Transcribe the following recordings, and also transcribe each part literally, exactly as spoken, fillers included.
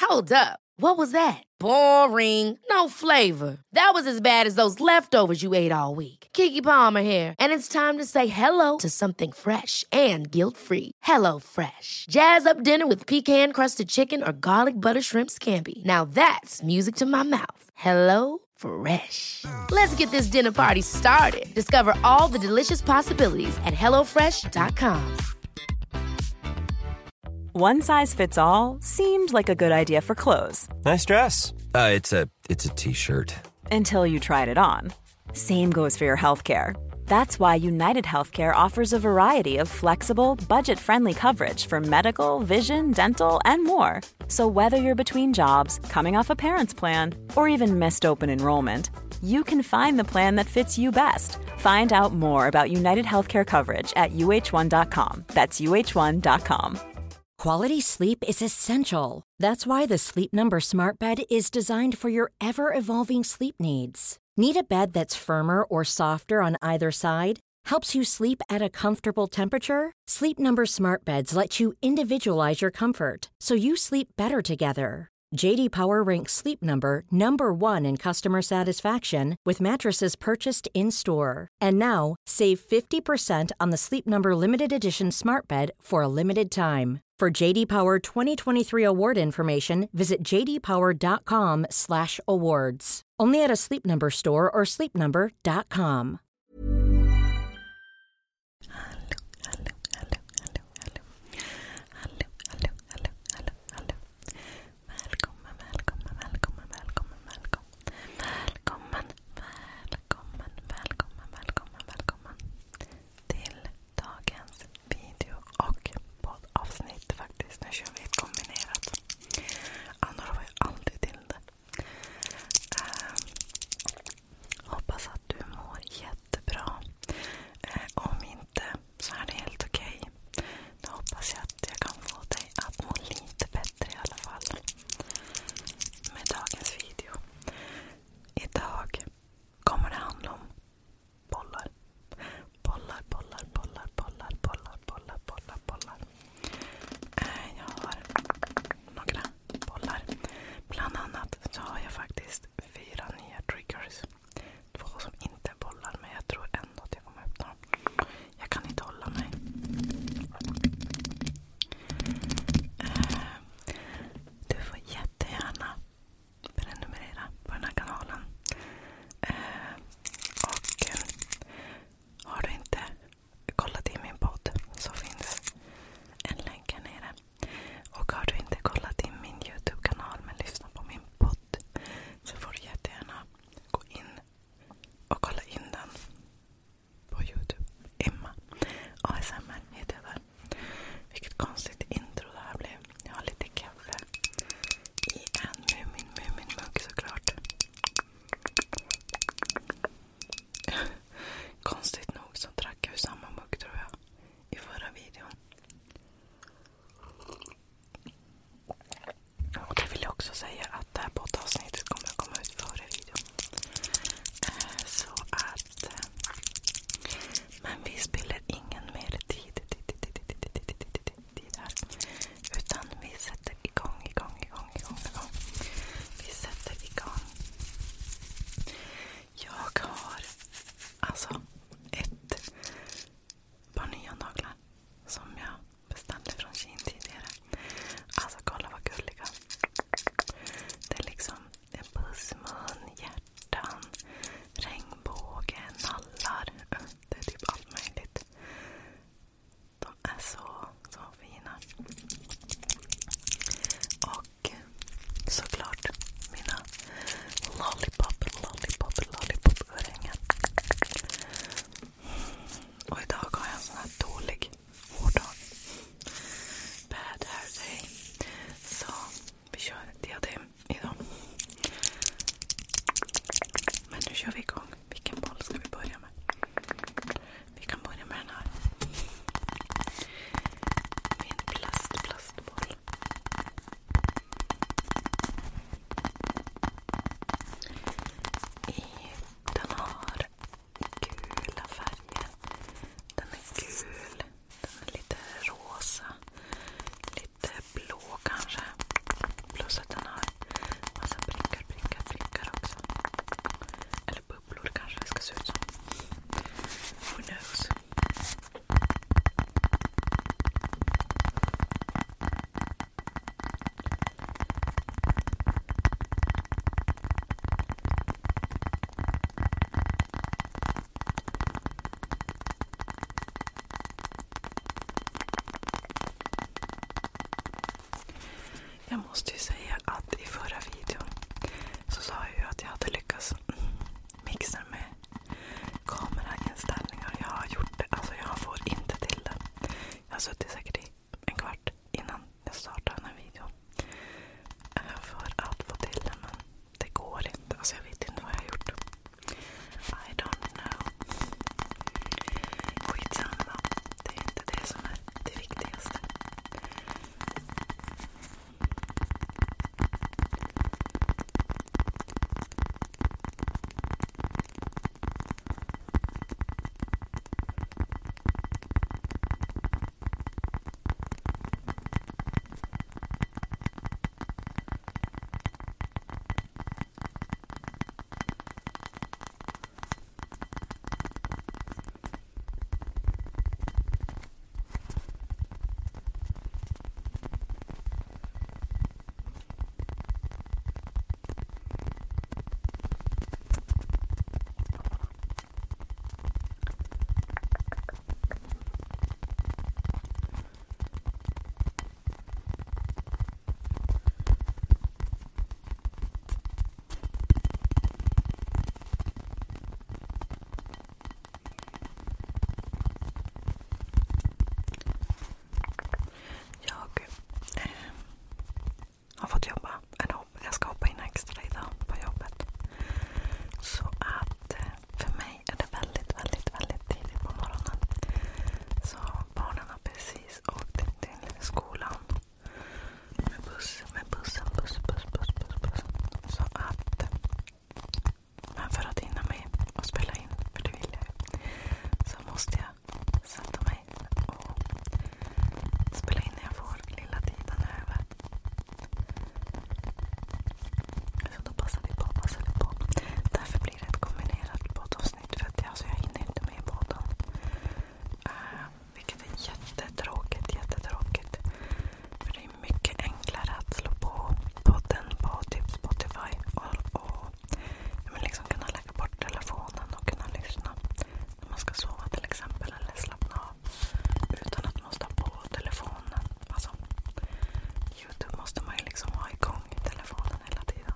Hold up. What was that? Boring. No flavor. That was as bad as those leftovers you ate all week. Keke Palmer here, and it's time to say hello to something fresh and guilt-free. Hello Fresh. Jazz up dinner with pecan-crusted chicken or garlic butter shrimp scampi. Now that's music to my mouth. Hello Fresh. Let's get this dinner party started. Discover all the delicious possibilities at hello fresh dot com. One size fits all seemed like a good idea for clothes. Nice dress. Uh, it's a it's a t-shirt. Until you tried it on. Same goes for your healthcare. That's why United Healthcare offers a variety of flexible, budget-friendly coverage for medical, vision, dental, and more. So whether you're between jobs, coming off a parent's plan, or even missed open enrollment, you can find the plan that fits you best. Find out more about United Healthcare coverage at U H one dot com. That's U H one dot com. Quality sleep is essential. That's why the Sleep Number Smart Bed is designed for your ever-evolving sleep needs. Need a bed that's firmer or softer on either side? Helps you sleep at a comfortable temperature? Sleep Number Smart Beds let you individualize your comfort, so you sleep better together. J D Power ranks Sleep Number number one in customer satisfaction with mattresses purchased in-store. And now, save fifty percent on the Sleep Number Limited Edition Smart Bed for a limited time. For J D Power twenty twenty-three award information, visit j d power dot com slash awards. Only at a Sleep Number store or sleep number dot com. Hoppas att du mår jätte Jag måste ju säga att i förra videon så sa jag ju att jag hade lyckats mixa med kamerainställningar. Jag har gjort det, alltså jag får inte till det. Jag har suttit säkert i en kvart innan jag startade den här videon för att få till det, men det går inte. Alltså jag vet inte vad jag har gjort. I don't know. Skitsamma. Det är inte det som är det viktigaste. Har fått jobba, eller jag ska hoppa in extra idag på jobbet. Så att för mig är det väldigt, väldigt, väldigt tidigt på morgonen. Så barnen har precis åkt till skolan med buss, med bussen, buss, buss, buss, buss, buss. Så att, men för att hinna med och spela in, för det vill jag ju, så måste jag sätta mig och spela in när jag får lilla tiden över. Så då passar vi på, passar vi på. Därför blir det ett kombinerat poddavsnitt, för att alltså, jag hinner inte med båten. Uh, vilket är jättetråkigt, jättetråkigt. För det är mycket enklare att slå på podden på typ Spotify och, och men liksom kunna lägga bort telefonen och kunna lyssna när man ska sova till exempel, eller slappna av utan att måste ha på telefonen. Alltså, YouTube måste man ju liksom ha igång i telefonen hela tiden.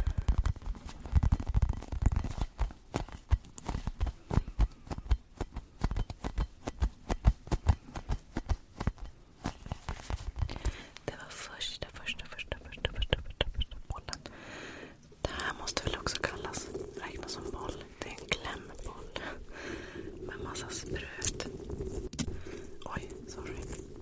Det var första, första, första, första, första, första, första bollen. Det här måste väl också kallas, räknas som boll. Det är en klämboll med massa spröt. Oj, sorry.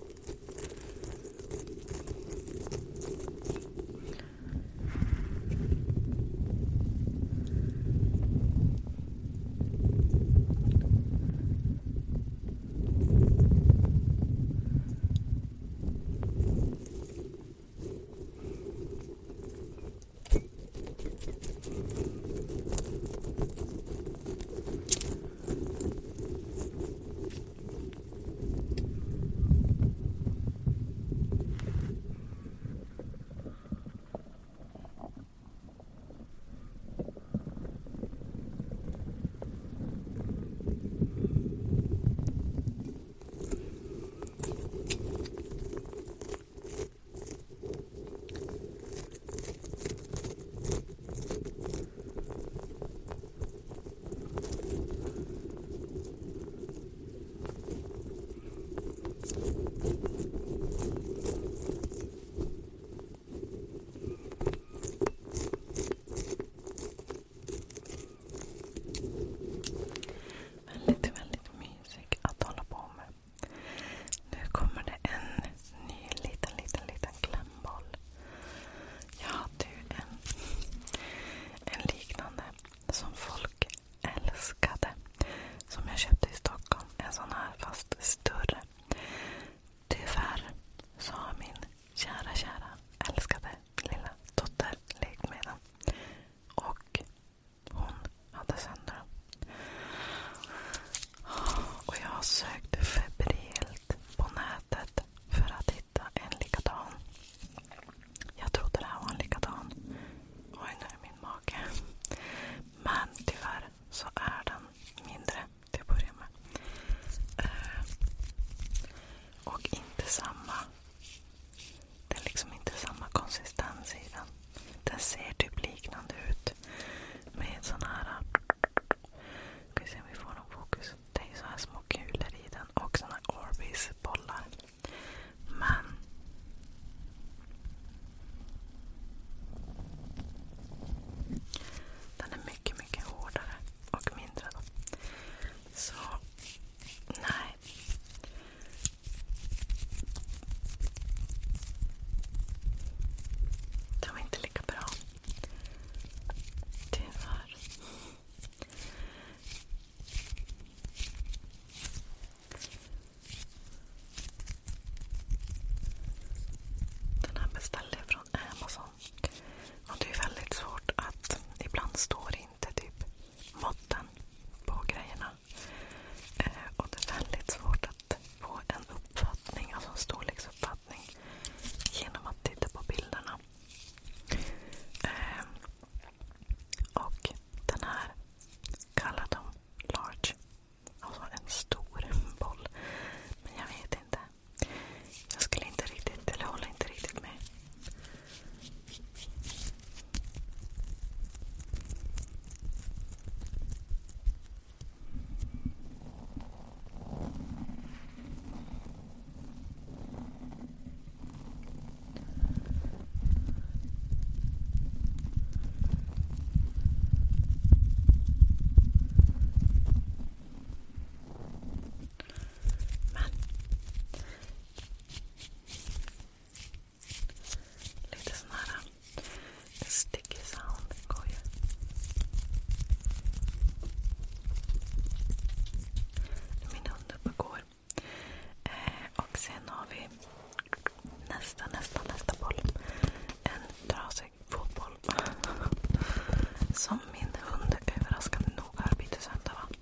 Väldigt, väldigt mysig att hålla på med. Nu kommer det en ny liten, liten, liten klämboll. Jag hade ju en, en liknande som folk älskade, som jag köpte i Stockholm. En sån här fast större. Tyvärr så har min kära, kära, älskade lilla dotter lekt med den. Och hon hade sönder den. Och jag har sökt febrilt på nätet för att hitta en likadan. Jag trodde det här var en likadan. Oj, nu är min mage. Men tyvärr så är den mindre till att börja med. Uh, och inte samma. Det är liksom inte beställde jag från Amazon. Och det är väldigt svårt att ibland står inte typ måtten på grejerna. Eh, och det är väldigt svårt att få en uppfattning, alltså en storleksuppfattning genom att titta på bilderna. Eh, och den här kallar de large. Alltså en stor boll. Men jag vet inte. Jag skulle inte riktigt, eller håller inte riktigt med. Men lite sån här sticky sound går ju. Min hund uppe går. Eh, och sen har vi nästa, nästa, nästa boll. En trasig fotboll. Som min hund överraskande nog har bitit sönder, va?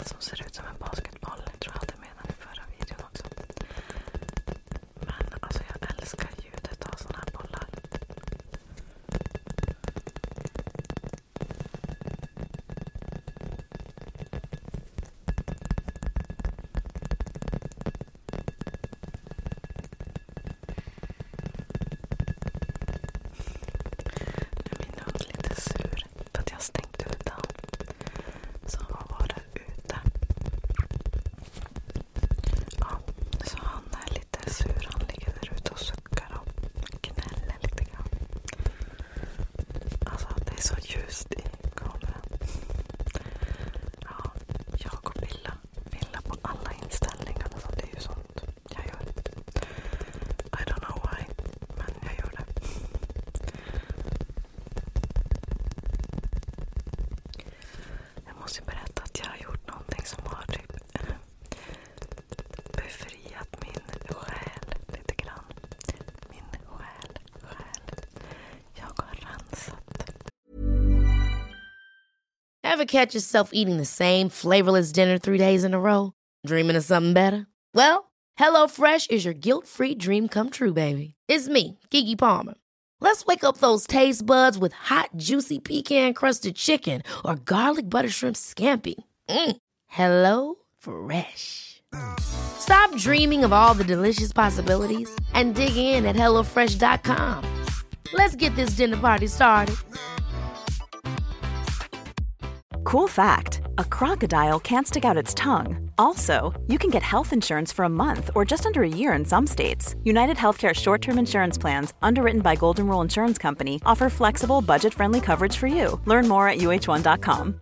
som ser ut som en basketboll. Jag tror jag hade med den i förra videon också. Men alltså jag älskar ljudet av såna här bollar. Ever catch yourself eating the same flavorless dinner three days in a row? Dreaming of something better? Well, HelloFresh is your guilt-free dream come true, baby. It's me, Keke Palmer. Let's wake up those taste buds with hot, juicy pecan-crusted chicken or garlic butter shrimp scampi. Mm. Hello Fresh. Stop dreaming of all the delicious possibilities and dig in at hello fresh dot com. Let's get this dinner party started. Cool fact, a crocodile can't stick out its tongue. Also, you can get health insurance for a month or just under a year in some states. United Healthcare short-term insurance plans, underwritten by Golden Rule Insurance Company, offer flexible, budget-friendly coverage for you. Learn more at u h one dot com.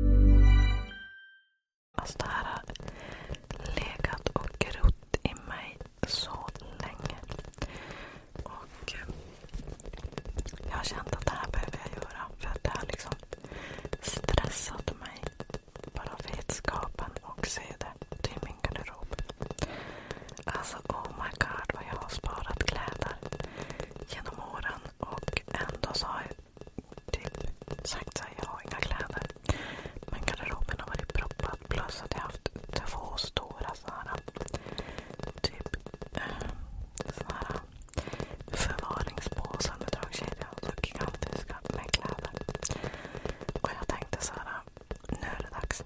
Alltså det här har legat och grott i mig så länge. Och jag har känt att det här behöver jag göra. För att det har liksom stressat mig. Bara vetskapen och se det till min garderob. Alltså oh my god vad jag har sparat kläder genom åren. Och ändå så har jag typ sagt att jag har inga kläder. Men garderoben har varit proppad. Plus att jag har haft två stora sådana typ äh, sådana förvaringspåsar med dragkedja. Så gigantiska med kläder. Och jag tänkte så här, nu är det dags.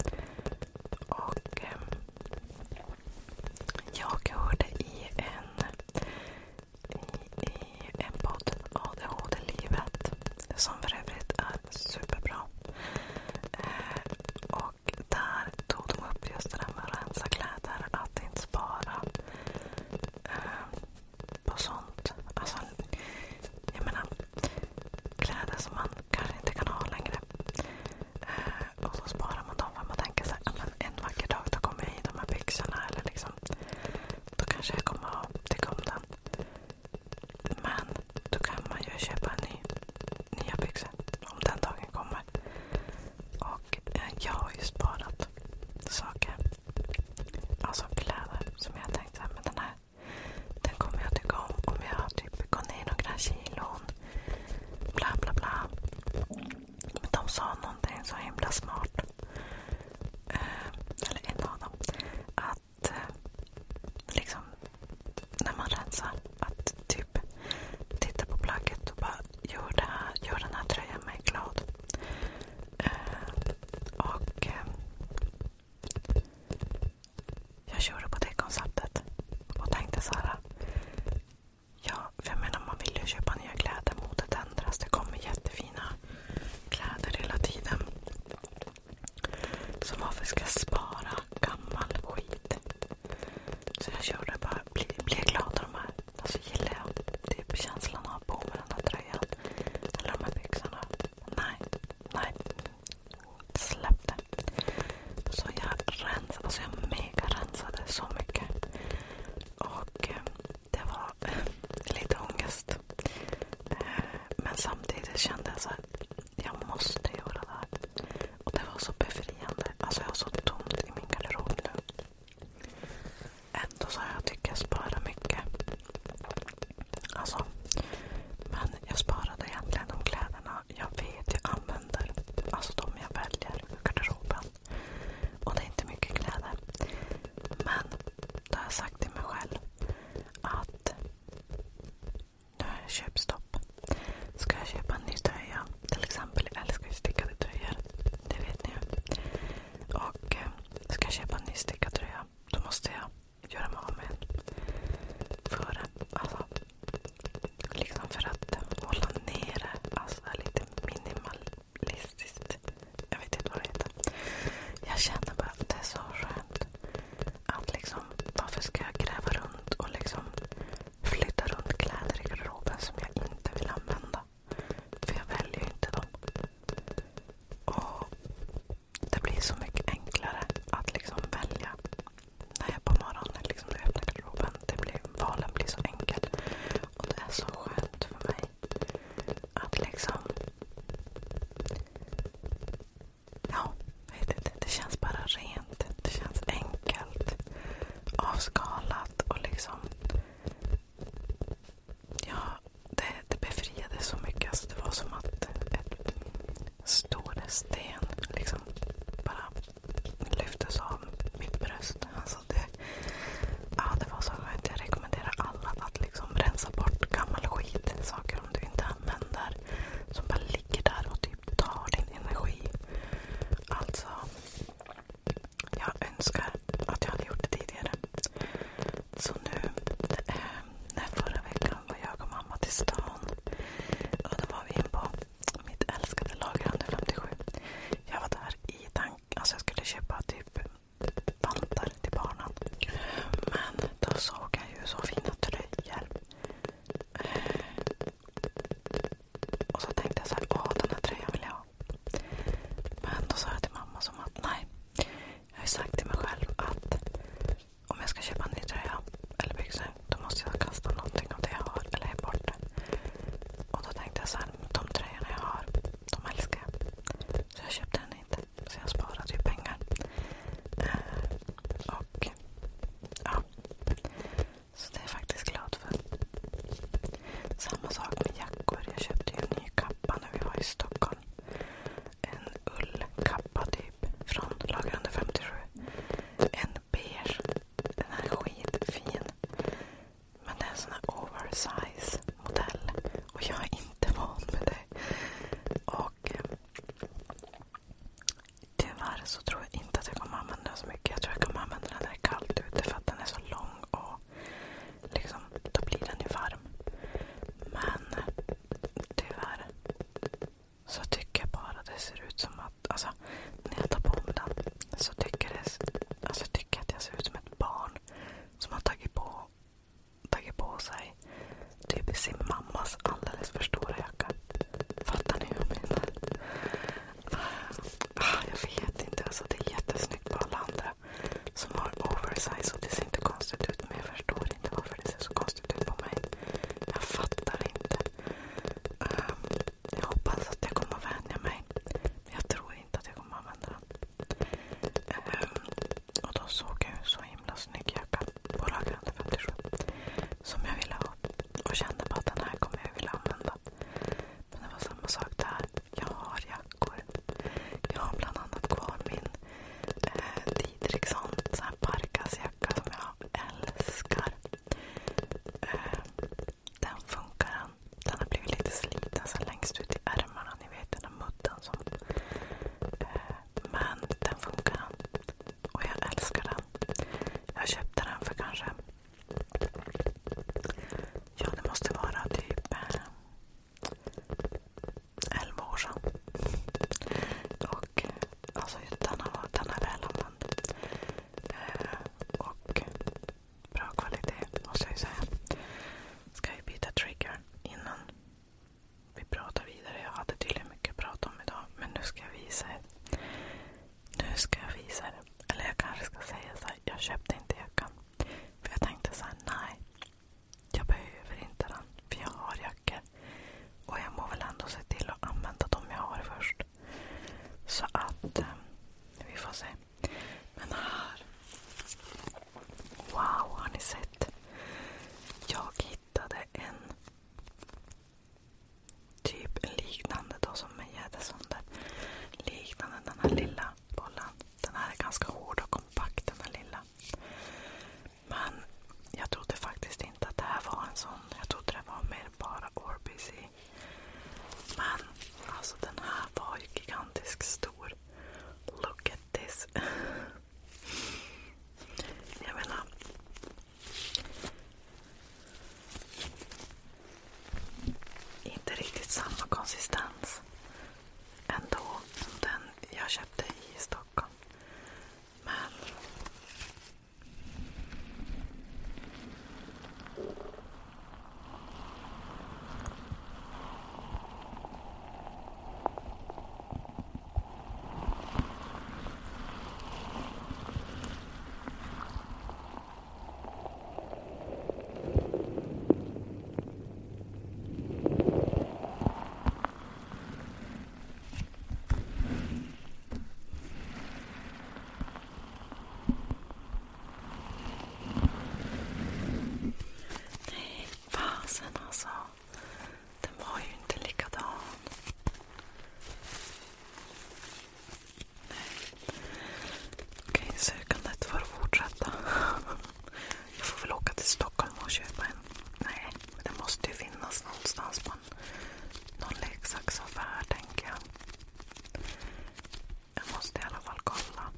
Och eh, jag hörde i en i, i en podd A D H D-livet som för övrigt är superbra. Eh, och där tog de upp just det där med att rensa kläder, att inte spara eh, på sånt. Alltså, jag menar kläder som man kanske inte kan ha längre. Eh, och så sparar man dem för man tänker så här, men en vacker dag då kommer jag i de här byxorna eller liksom, då kanske jag kommer att tycka om den. Men då kan man ju köpa en ny, nya byxor om den dagen kommer. Och eh, jag har ju sparat saker, alltså kläder som jag tänkte så här, men den här, den kommer jag tycka om om jag typ går ner några kilon. Bla bla bla. Men de sa någonting så himla smart. Eh, eller en av dem. Att eh, liksom när man rensar, att typ titta på plagget och bara gör, det här, gör den här tröjan mig glad. Eh, och eh, jag körde på det konceptet och tänkte så här. Ja, för jag menar man vill ju köpa nya kläder, modet ändras, det kommer jättefina kläder hela tiden. Så varför ska jag spara gammal skit? Så jag körde bara, bli, bli glad av de här. Alltså gillar jag typ känslan av på med den här tröjan. Eller de här byxorna. Nej, nej. Släpp det. Så jag rensade, alltså jag mega rensade så mycket. Och eh, det var eh, lite ångest. Eh, men samtidigt kände jag så här, jag måste göra det här. Och det var så befriande. Alltså jag har så tomt i min garderob nu. Ändå så har jag tycker jag sparar mycket. Alltså, men jag sparade egentligen de kläderna jag vet jag använder. Alltså de jag väljer ur garderoben. Och det är så tycker, det, alltså, tycker att jag ser ut som ett barn som har tagit på, tagit på sig typ sin mammas alldeles för stora jacka. Fattar ni hur jag menar? Ah, jag vet inte. Alltså, det är jättesnyggt på alla andra som har oversize och det ser inte konstigt ut. Men jag förstår inte varför det ser så konstigt ut på mig. Jag fattar inte. Um, jag hoppas att jag kommer att vänja mig. Men jag tror inte att jag kommer att använda den. Um, och då såg jag så himla snygg jacka på Lagerhand femtiosju som jag ville ha. Och kände bara att den här kommer jag vilja använda. Men det var samma sak där. Jag har jackor. Jag har bland annat kvar min eh, Didriksson så här parkasjacka som jag älskar. Eh, den funkar den. Den har blivit lite sliten så längst ut i ärmarna. Ni vet den där mudden som... Eh, men den funkar den. Och jag älskar den. Jag köpte den för kanske... Ja, det måste vara typ eh, elva år sedan. Och alltså den har, den är väl använd. Eh, och bra kvalitet måste jag ju säga. Ska vi byta trigger innan vi pratar vidare. Jag hade tydligen mycket att prata om idag. Men nu ska jag visa er. Nu ska jag visa er. Eller jag kanske ska säga så här. Jag köpte inte jackan. För jag tänkte så här, nej. Jag behöver inte den. För jag har jackor. Och jag må väl ändå se till att använda dem jag har först. Så att eh, vi får se. Men här. Wow, har ni sett? Jag hittade en typ liknande då som med gäddesönder. Liknande den här lilla bollen. Den här är ganska hård och kompakt, den här lilla. Men jag trodde faktiskt inte att det här var en sån. Jag trodde det var mer bara Orbis i. Men alltså den här var ju gigantisk stor. Look at this. Jag menar. Inte riktigt samma konsistens ändå som den jag köpte i Stockholm. Men fasen alltså. Den var ju inte likadan. Okej, sökandet får fortsätta. Jag får väl åka till Stockholm och köpa en. Nej, men det måste ju finnas någonstans på en, någon leksaksaffär, tänker jag. Jag måste i alla fall kolla.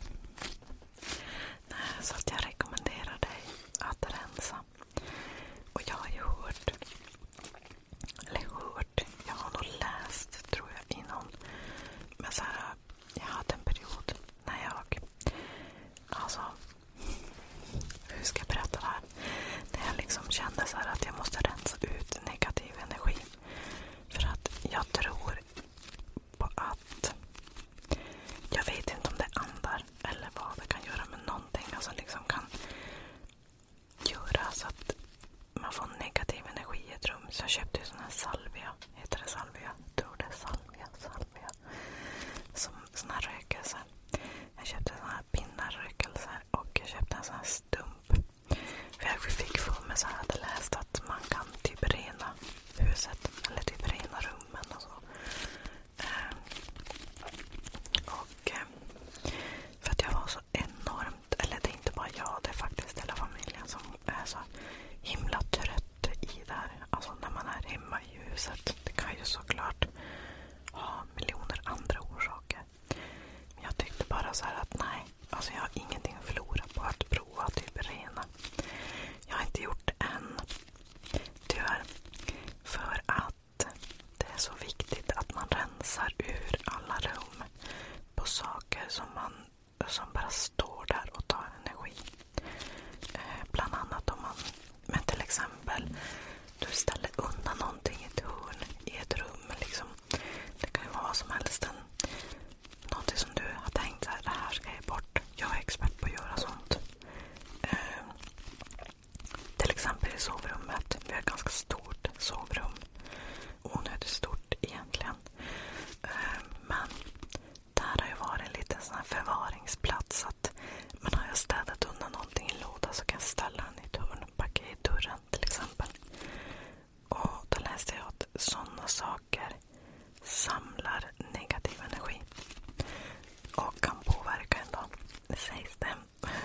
Nej, så att jag rekommenderar dig att rensa. Och jag har ju hört, eller hört, jag har nog läst, tror jag, innan. Men så här, jag hade en period när jag, alltså, hur ska jag berätta det här? När jag liksom kände så här att jag måste rensa ut negativ energi. För att jag tror på att, jag vet inte om det är andar eller vad det kan göra med någonting. Alltså liksom kan göra så att man får negativ energi i ett rum. Så jag köpte ju sån här salvia. Heter det salvia? Jag tror det är salvia. Salvia. Som sån här rökelse. Jag köpte sån här pinnarrökelse. Och jag köpte en sån här stump. För jag fick få mig så här. Jag hade läst att man kan typ rena huset. Eller typ rena rummen och så. Och för att jag var så enormt. Eller det är inte bara jag. Det är faktiskt hela familjen som är så himla trött i det här. Alltså när man är hemma i huset. Det kan ju såklart ha miljoner andra orsaker. Men jag tyckte bara så här att nej. Alltså jag har ingenting att förlora på att prova typ rena. Jag har inte gjort det än. Tyvärr. För att det är så viktigt att man rensar ur alla rum på saker som man som bara står där och tar energi. Eh, bland annat om man, men till exempel, du ställer undan någonting i ett hörn i ett rum. Liksom. Det kan ju vara vad som helst. En, någonting som du har tänkt så här, det här ska jag bort. Jag är expert på att göra sånt. Eh, till exempel i sovrummet. Vi har ett ganska stort sovrum. Onödigt stort egentligen. Eh, men där har ju varit en liten sån här förvaringsplats. Att man har ju städat undan någonting i låda så kan jag ställa den i ett hörn. Packa i dörren till exempel. Och då läste jag att sådana saker samlar negativ energi. Och kan påverka en då. Det sägs det.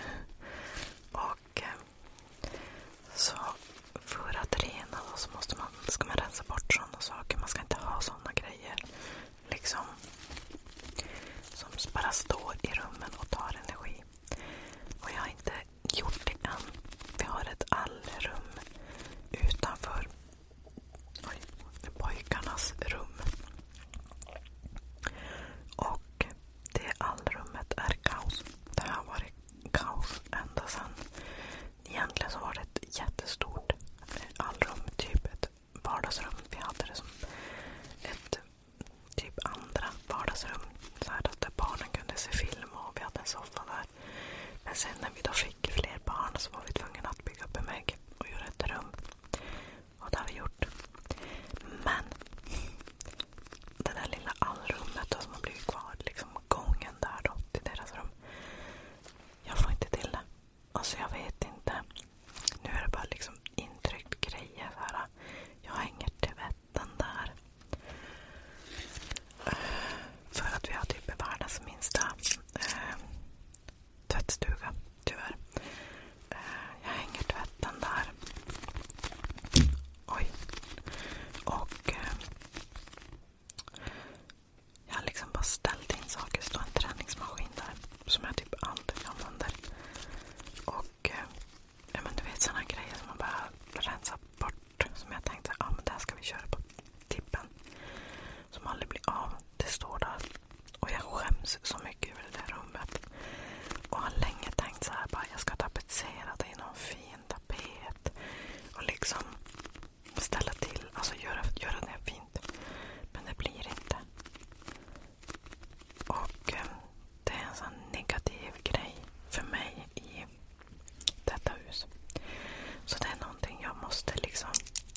Och så för att rena då så måste man, ska man rensa bort sådana saker. Man ska inte ha sådana grejer. Liksom. Som bara står i rummen och tar energi. Och jag har inte gjort det än. Vi har ett allrum utanför oj, pojkarnas rum. Och det allrummet är kaos. Det har varit kaos ända sedan. Egentligen så var det ett jättestort allrum. Typ ett vardagsrum. Vi hade det som ett typ andra vardagsrum. Så här där barnen kunde se film och vi hade en soffa där. Men sen när vi då fick fler barn så var vi tvungna att bygga upp en vägg och göra ett rum. Och det har vi gjort. Men det där lilla allrummet då som har blivit kvar, liksom gången där då till deras rum. Jag får inte till det. Alltså jag vet inte. Nu är det bara liksom intryckt grejer så här. Jag hänger tvätten där. För att vi har typ världens minsta eh, tvättstuga, tyvärr. Eh, jag hänger tvätten där. Oj. Och eh, jag har liksom bara ställt in saker. Det står en träningsmaskin där som jag typ aldrig använder. Och eh, ja, men du vet sådana grejer som man bara rensar bort. Som jag tänkte, ja ah, men det här ska vi köra på tippen. Som aldrig blir av. Det står där. Och jag skäms så mycket över det där rummet. Och har länge tänkt så här, bara jag ska tapetsera det i någon fin tapet. Och liksom ställa till, alltså göra, göra det fint. Men det blir inte. Och eh, det är en sån negativ grej för mig i detta hus. Så det är någonting jag måste liksom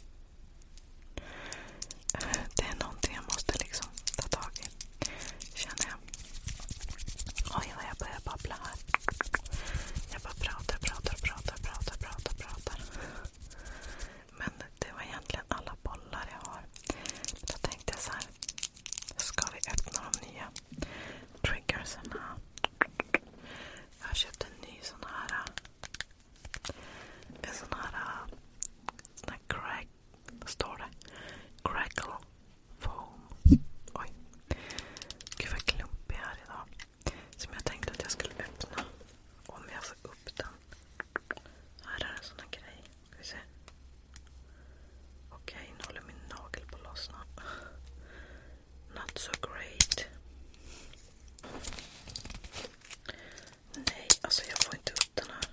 det är någonting jag måste liksom ta tag i, känner jag. Oj, vad jag börjar babbla här. Jag bara pratar, pratar, pratar, pratar, pratar, pratar. Men det var egentligen alla bollar jag har. Då tänkte jag så här, ska vi öppna de nya triggersarna? Jag har köpt en ny sån här en sån här sån här crack, vad står det? Crackle foam. Oj. Gud vad klumpig här idag. Som jag tänkte att jag skulle öppna. Om jag får upp den. Här är en sån här grej. Ska vi se. Okej, nu håller min nagel på att lossna. Not so great. Nej, alltså jag får inte upp den här.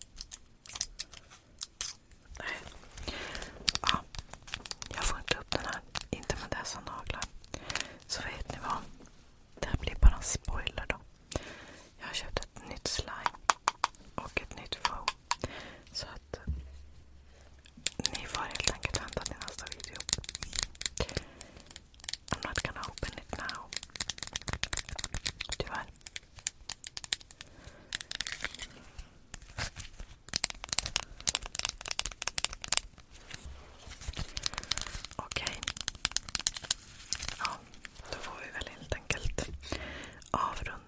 Nej. Ja, jag får inte upp den här. Inte med dessa naglar. Så vet ni vad? Det här blir bara en spoiler då. Jag har köpt ett nytt slime. Och ett nytt foam. Så att ni får helt enkelt vänta till nästa video. I'm not gonna open it now. Tyvärr. Okej. Ja, då får vi väl helt enkelt avrunda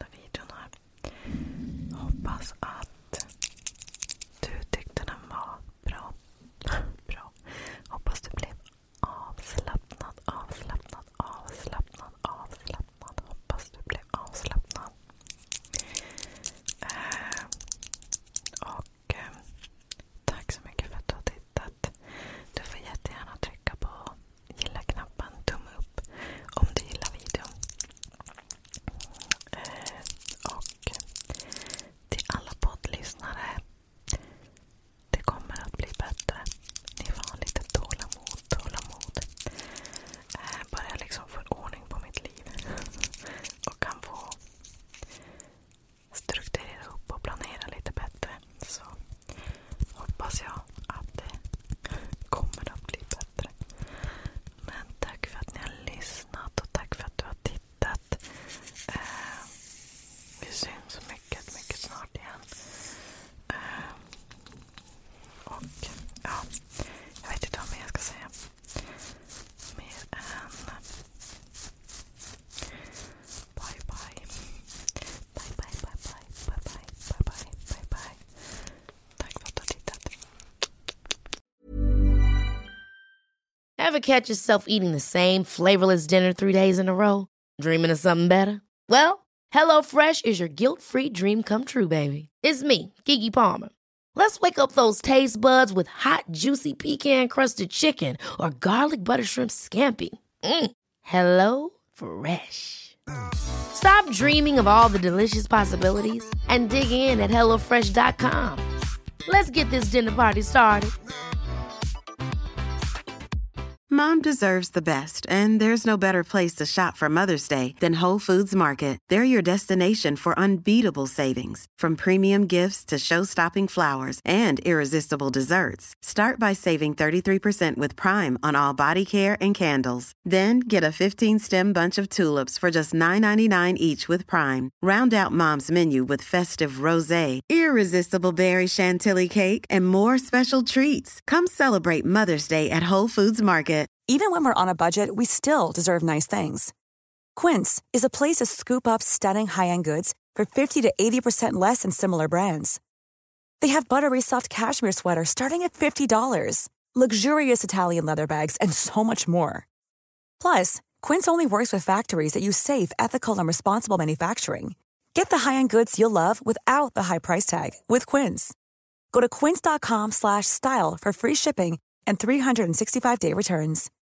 Ever catch yourself eating the same flavorless dinner three days in a row? Dreaming of something better? Well, HelloFresh is your guilt-free dream come true, baby. It's me, Keke Palmer. Let's wake up those taste buds with hot, juicy pecan-crusted chicken or garlic butter shrimp scampi. Mm. Hello Fresh. Stop dreaming of all the delicious possibilities and dig in at hello fresh dot com. Let's get this dinner party started. Mom deserves the best, and there's no better place to shop for Mother's Day than Whole Foods Market. They're your destination for unbeatable savings, from premium gifts to show-stopping flowers and irresistible desserts. Start by saving thirty-three percent with Prime on all body care and candles. Then get a fifteen-stem bunch of tulips for just nine ninety-nine each with Prime. Round out Mom's menu with festive rosé, irresistible berry chantilly cake, and more special treats. Come celebrate Mother's Day at Whole Foods Market. Even when we're on a budget, we still deserve nice things. Quince is a place to scoop up stunning high-end goods for fifty to eighty percent less than similar brands. They have buttery soft cashmere sweaters starting at fifty dollars, luxurious Italian leather bags, and so much more. Plus, Quince only works with factories that use safe, ethical, and responsible manufacturing. Get the high-end goods you'll love without the high price tag with Quince. Go to quince dot com slash style for free shipping and three sixty-five day returns.